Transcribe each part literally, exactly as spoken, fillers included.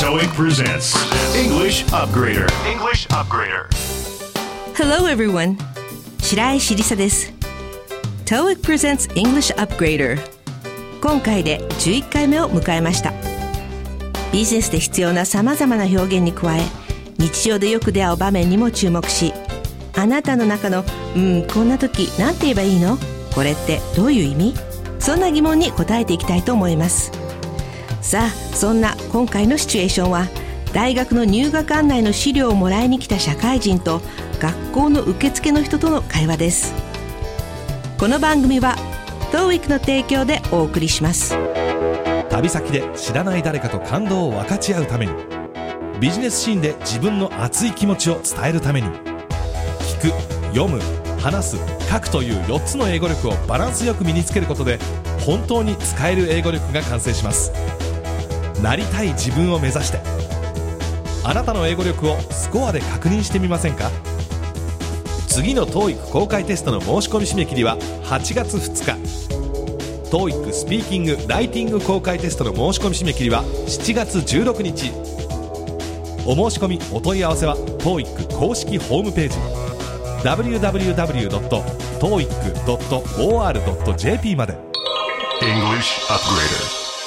トーイック presents English Upgrader. English Upgrader. Hello everyone. 白石りさです。トーイック presents English Upgrader. 今回でじゅういっかいめを迎えました。ビジネスで必要な様々な表現に加え、日常でよく出会う場面にも注目し、あなたの中のうんこんな時なんて言えばいいの？これってどういう意味？そんな疑問に答えていきたいと思います。さあ、そんな今回のシチュエーションは、大学の入学案内の資料をもらいに来た社会人と学校の受付の人との会話です。この番組は トーイック の提供でお送りします。 旅先で知らない誰かと感動を分かち合うために、ビジネスシーンで自分の熱い気持ちを伝えるために、聞く、読む、話す、書くというよっつの英語力をバランスよく身につけることで、本当に使える英語力が完成します。なりたい自分を目指して、あなたの英語力をスコアで確認してみませんか？次の トーイック 公開テストの申し込み締め切りははちがつふつか。 トーイック スピーキング・ライティング公開テストの申し込み締め切りはしちがつじゅうろくにち。お申し込みお問い合わせは トーイック 公式ホームページ ダブリューダブリューダブリュードットトーイックドットオーアールドットジェーピー まで。 English Upgrader.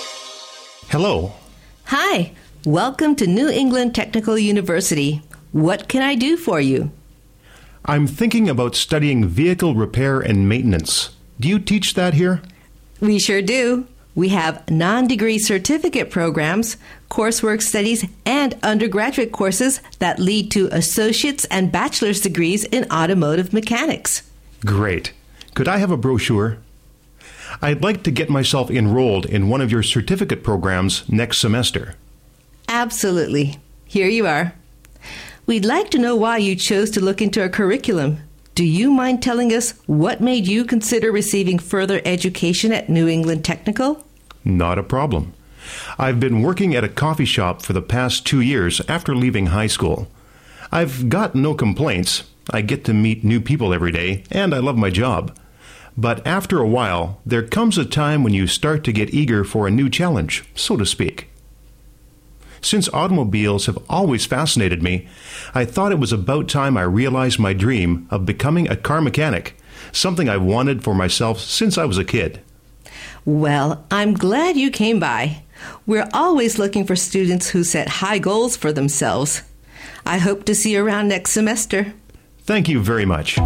Hello.Hi, welcome to New England Technical University. What can I do for you? I'm thinking about studying vehicle repair and maintenance. Do you teach that here? We sure do. We have non-degree certificate programs, coursework studies, and undergraduate courses that lead to associate's and bachelor's degrees in automotive mechanics. Great. Could I have a brochure? I'd like to get myself enrolled in one of your certificate programs next semester. Absolutely. Here you are. We'd like to know why you chose to look into our curriculum. Do you mind telling us what made you consider receiving further education at New England Technical? Not a problem. I've been working at a coffee shop for the past two years after leaving high school. I've got no complaints. I get to meet new people every day, and I love my job.But after a while, there comes a time when you start to get eager for a new challenge, so to speak. Since automobiles have always fascinated me, I thought it was about time I realized my dream of becoming a car mechanic, something I've wanted for myself since I was a kid. Well, I'm glad you came by. We're always looking for students who set high goals for themselves. I hope to see you around next semester. Thank you very much.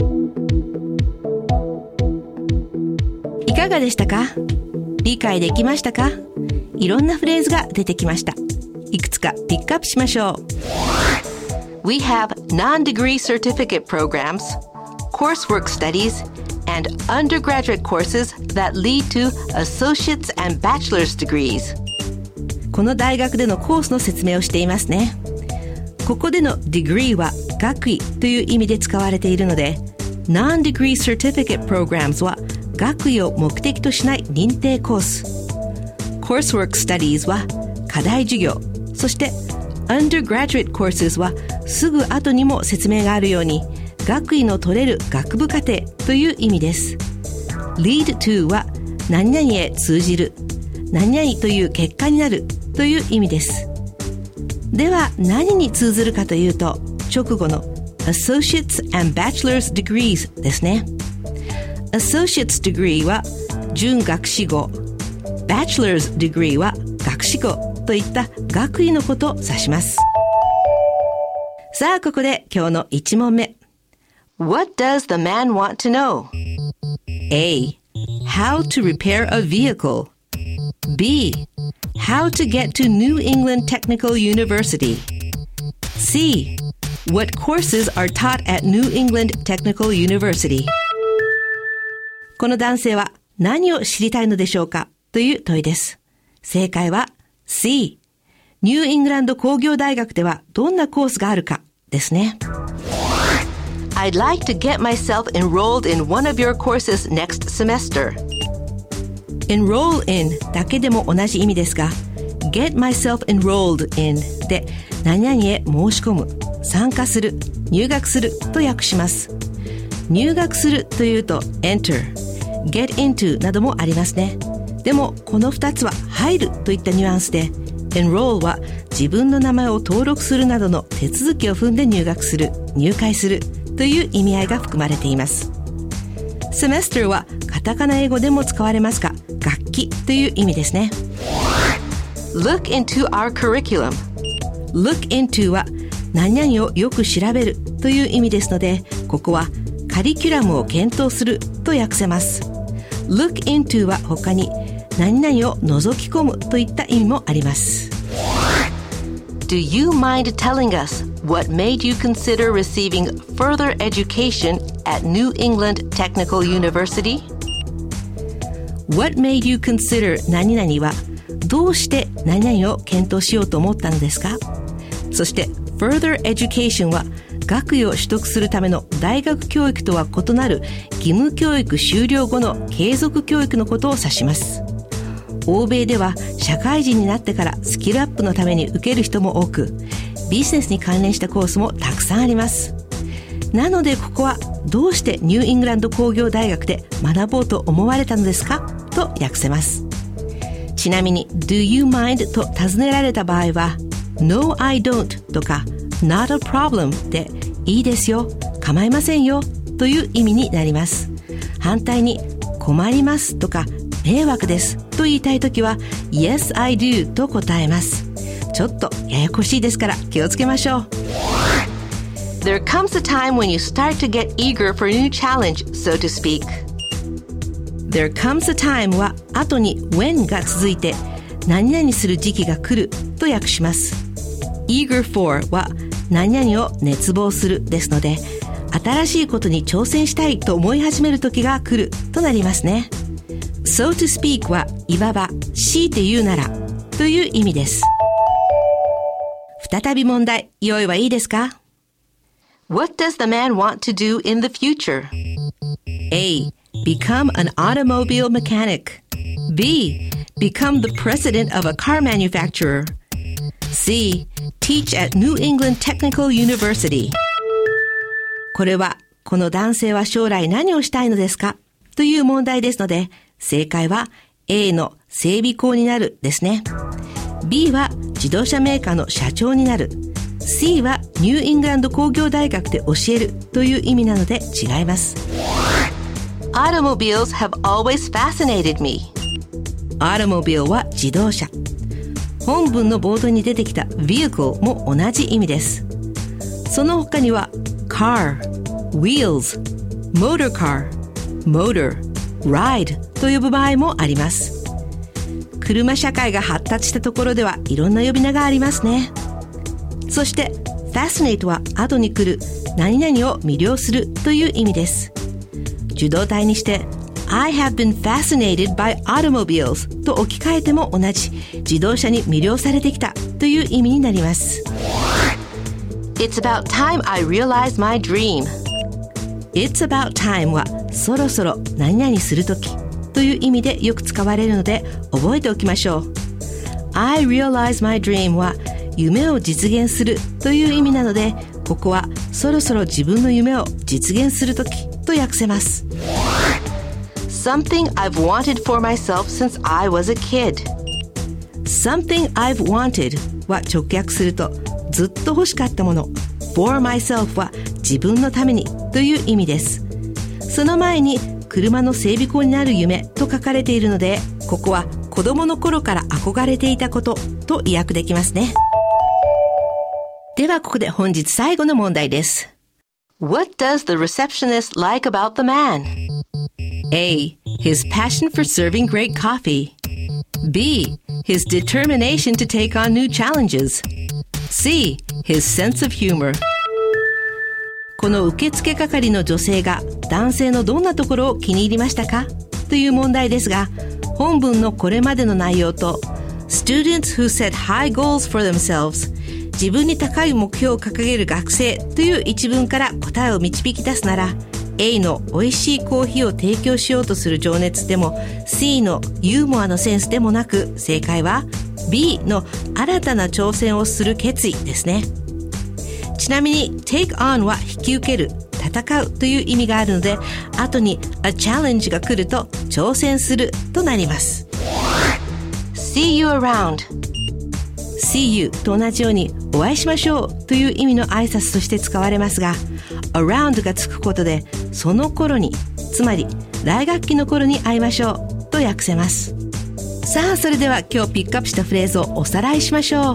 いかがでしたか？理解できましたか？いろんなフレーズが出てきました。いくつかピックアップしましょう。We have non-degree certificate programs, coursework studies, and undergraduate courses that lead to associate's and bachelor's degrees. この大学でのコースの説明をしていますね。ここでの degree は学位という意味で使われているので、non-degree certificate programs は学位を目的としない認定コース。Coursework Studies は課題授業。そして Undergraduate Courses はすぐ後にも説明があるように学位の取れる学部課程という意味です。Lead to は何々へ通じる。何々という結果になるという意味です。では何に通ずるかというと、直後の Associates and Bachelor's Degrees ですね。Associate's degree は準学士号、Bachelor's degree は学士号といった学位のことを指します。さあ、ここで今日のいち問目。What does the man want to know? A. How to repair a vehicle. B. How to get to New England Technical University. C. What courses are taught at New England Technical University?この男性は何を知りたいのでしょうかという問いです。正解は C。ニューイングランド工業大学ではどんなコースがあるかですね。I'd like to get myself enrolled in one of your courses next semester. Enroll in だけでも同じ意味ですが、get myself enrolled in で何々へ申し込む、参加する、入学すると訳します。入学するというと enter、get into などもありますね。でもこのふたつは入るといったニュアンスで Enroll は自分の名前を登録するなどの手続きを踏んで入学する、入会するという意味合いが含まれています。Semester はカタカナ英語でも使われますが、学期という意味ですね。 Look into our curriculum. Look into は何々をよく調べるという意味ですので、ここはカリキュラムを検討すると訳せます。Look into は他に何々を覗き込むといった意味もあります。 Do you mind telling us what made you consider receiving further education at New England Technical University? What made you consider 何々はどうして何々を検討しようと思ったのですか？そして further education は学位を取得するための大学教育とは異なる義務教育終了後の継続教育のことを指します。欧米では社会人になってからスキルアップのために受ける人も多く、ビジネスに関連したコースもたくさんあります。なのでここはどうしてニューイングランド工業大学で学ぼうと思われたのですかと訳せます。ちなみに Do you mind と尋ねられた場合は No, I don't とか Not a problem でいいですよ、構いませんよという意味になります。反対に困りますとか迷惑ですと言いたいときは Yes, I do と答えます。ちょっとややこしいですから気をつけましょう。 There comes a time when you start to get eager for a new challenge, so to speak. There comes a time は後に when が続いて何々する時期が来ると訳します。eager for は何々を熱望するですので、新しいことに挑戦したいと思い始める時が来るとなりますね。So to speak はいわば強いて言うならという意味です。再び問題、用意はいいですか？ What does the man want to do in the future? A. Become an automobile mechanic. B. Become the president of a car manufacturer. C. Teach at New England Technical University. これは、この男性は将来何をしたいのですかという問題ですので、正解は A の整備工になるですね。B は自動車メーカーの社長になる。C はニューイングランド工業大学で教えるという意味なので違います。 Automobiles have always fascinated me. Automobile は自動車。本文の冒頭に出てきた vehicle も同じ意味です。その他には car, wheels, motor car, motor, ride と呼ぶ場合もあります。車社会が発達したところではいろんな呼び名がありますね。そして fascinate は後に来る何々を魅了するという意味です。受動体にして I have been fascinated by automobiles と置き換えても同じ自動車に魅了されてきたという意味になります。 It's about time I realized my dream. It's about time はそろそろ何々するときという意味でよく使われるので覚えておきましょう。 I realize my dream は夢を実現するという意味なので、ここはそろそろ自分の夢を実現するときと訳せます。 Something I've wanted for myself since I was a kid. Something I've wanted は直訳するとずっと欲しかったもの。for myself は自分のためにという意味です。その前に車の整備工になる夢と書かれているので、ここは子供の頃から憧れていたことと意訳できますね。ではここで本日最後の問題です。 What does the receptionist like about the man? A. His passion for serving great coffee. B. His determination to take on new challenges. C. His sense of humor. この受付係の女性が男性のどんなところを気に入りましたかという問題ですが、本文のこれまでの内容と Students who set high goals for themselves 自分に高い目標を掲げる学生という一文から答えを導き出すなら A の美味しいコーヒーを提供しようとする情熱でも C のユーモアのセンスでもなく、正解は B の新たな挑戦をする決意ですね。ちなみに take on は引き受ける、戦うという意味があるので、後に a challenge が来ると挑戦するとなります。 See you around. See you と同じようにお会いしましょうという意味の挨拶として使われますが、 around がつくことでその頃に、つまり来学期の頃に会いましょうと訳せます。さあ、それでは今日ピックアップしたフレーズをおさらいしましょう。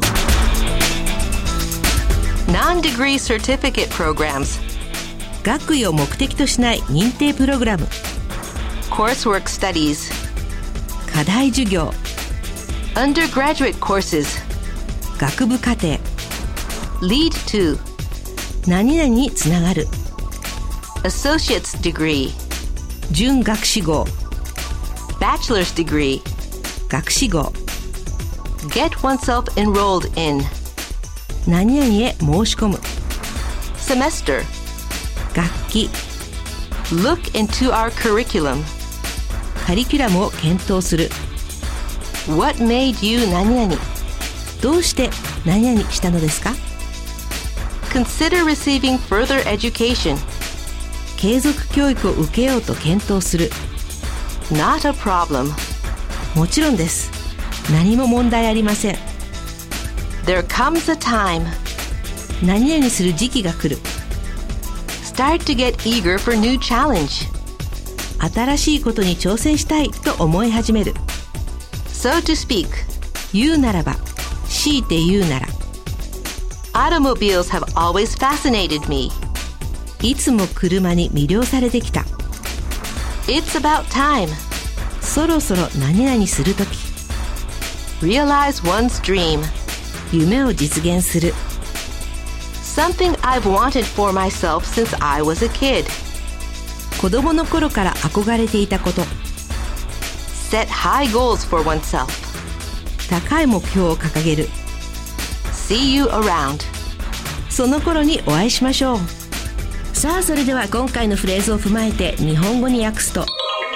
Non-degree certificate programs, 学位を目的としない認定プログラム、 coursework studies, 課題授業、 undergraduate courses, 学部課程、 lead to, 何々につながる、 associate's degree, 準学士号、 bachelor's degree, 学士号、 get oneself enrolled in, 何々へ申し込む、 semester, 学期、 look into our curriculum, カリキュラムを検討する、 what made you 何々, どうして何々したのですか、 consider receiving further education, 継続教育を受けようと検討する、 not a problem, もちろんです、何も問題ありません、 there comes a time, 何々する時期が来る、 start to get eager for new challenge, 新しいことに挑戦したいと思い始める、 so to speak, 言うならば、強いて言うなら、 automobiles have always fascinated me, いつも車に魅了されてきた、 it's about time, そろそろ何々するとき、 realize one's dream, 夢を実現する、 something I've wanted for myself since I was a kid, 子供の頃から憧れていたこと、 set high goals for oneself, 高い目標を掲げる、 see you around, その頃にお会いしましょう。さあ、それでは今回のフレーズを踏まえて日本語に訳すと、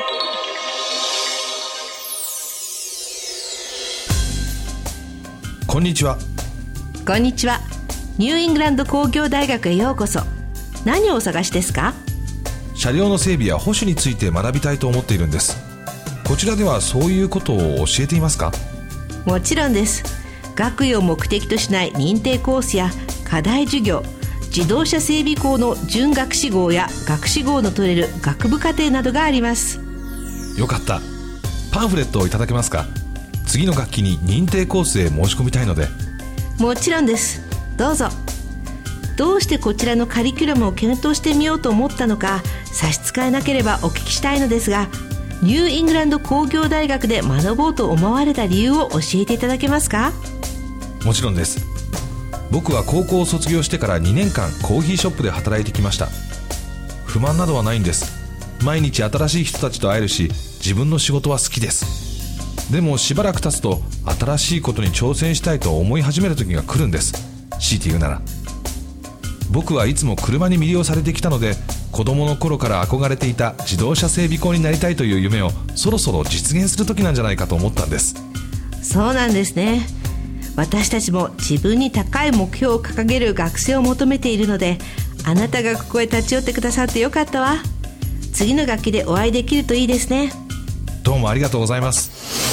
こんにちは。 こんにちは。ニューイングランド工業大学へようこそ。何をお探しですか？ 車両の整備や保守について学びたいと思っているんです。こちらではそういうことを教えていますか？ もちろんです。学位を目的としない認定コースや課題授業、自動車整備工の準学士号や学士号の取れる学部課程などがあります。 よかった。パンフレットをいただけますか？次の学期に認定コースへ申し込みたいので。 もちろんです。どうぞ。どうしてこちらのカリキュラムを検討してみようと思ったのか差し支えなければお聞きしたいのですが、ニューイングランド工業大学で学ぼうと思われた理由を教えていただけますか？ もちろんです。僕は高校を卒業してからにねんかんコーヒーショップで働いてきました。不満などはないんです。毎日新しい人たちと会えるし、自分の仕事は好きです。でもしばらく経つと新しいことに挑戦したいと思い始める時が来るんです。強いて言うなら、僕はいつも車に魅了されてきたので、子供の頃から憧れていた自動車整備工になりたいという夢をそろそろ実現する時なんじゃないかと思ったんです。 そうなんですね。私たちも自分に高い目標を掲げる学生を求めているので、あなたがここへ立ち寄ってくださってよかったわ。次の学期でお会いできるといいですね。 どうもありがとうございます。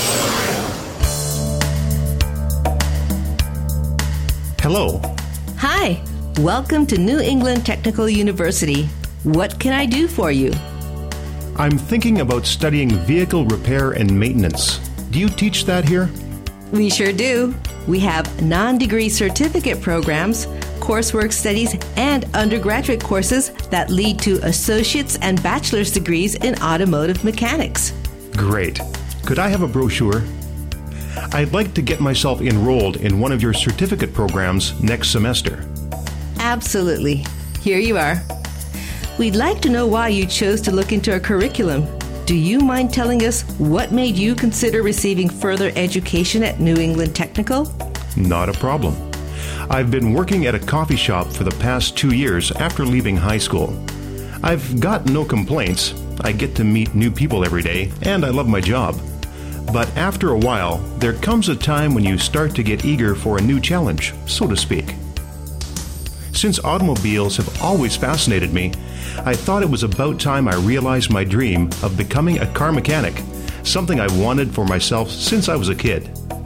Hello. Hi, welcome to New England Technical University. What can I do for you? I'm thinking about studying vehicle repair and maintenance. Do you teach that here? We sure do. We have non-degree certificate programs, coursework studies, and undergraduate courses that lead to associate's and bachelor's degrees in automotive mechanics. Great. Could I have a brochure? I'd like to get myself enrolled in one of your certificate programs next semester. Absolutely. Here you are. We'd like to know why you chose to look into our curriculum. Do you mind telling us what made you consider receiving further education at New England Technical? Not a problem. I've been working at a coffee shop for the past two years after leaving high school. I've got no complaints. I get to meet new people every day, and I love my job. But after a while, there comes a time when you start to get eager for a new challenge, so to speak. Since automobiles have always fascinated me, I thought it was about time I realized my dream of becoming a car mechanic, something I wanted for myself since I was a kid.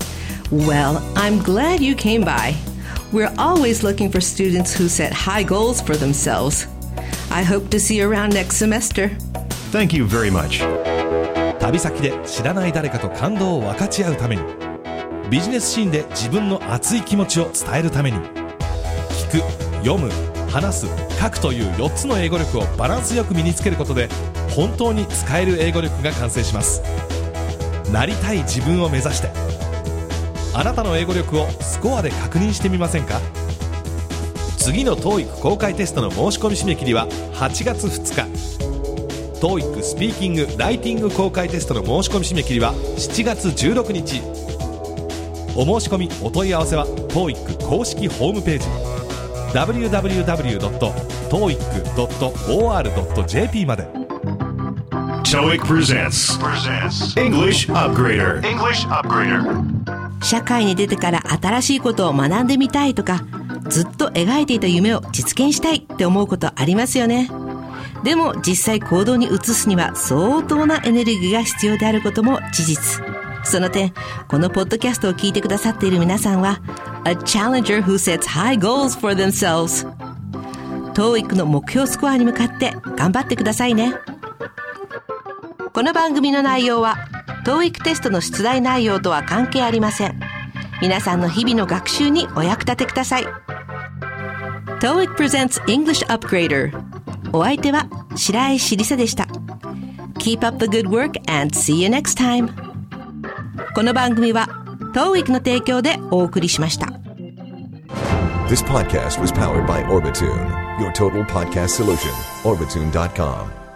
Well, I'm glad you came by. We're always looking for students who set high goals for themselves. I hope to see you around next semester. Thank you very much. 旅先で知らない誰かと感動を分かち合うために、ビジネスシーンで自分の熱い気持ちを伝えるために、聞く、読む、話す、書くというよっつの英語力をバランスよく身につけることで、本当に使える英語力が完成します。なりたい自分を目指して、あなたの英語力をスコアで確認してみませんか？次の トーイック 公開テストの申し込み締め切りははちがつふつか。トーイック スピーキング・ライティング公開テストの申し込み締め切りはしちがつじゅうろくにち。お申し込みお問い合わせは トーイック 公式ホームページ ダブリューダブリューダブリュードットトーイックドットオーアールドットジェーピー まで。 トーイック presents English Upgrader. English Upgrader. 社会に出てから新しいことを学んでみたいとか、ずっと描いていた夢を実現したいって思うことありますよね。でも実際行動に移すには相当なエネルギーが必要であることも事実。その点、このポッドキャストを聞いてくださっている皆さんは A challenger who sets high goals for themselves。 トーイック の目標スコアに向かって頑張ってくださいね。この番組の内容は トーイック テストの出題内容とは関係ありません。皆さんの日々の学習にお役立てください。 トーイック presents English Upgrader。 お相手は白石りさでした。 Keep up the good work and see you next time。 この番組は トーイック の提供でお送りしました。 This podcast was powered by Orbitune, your total podcast solution. Orbitune dot com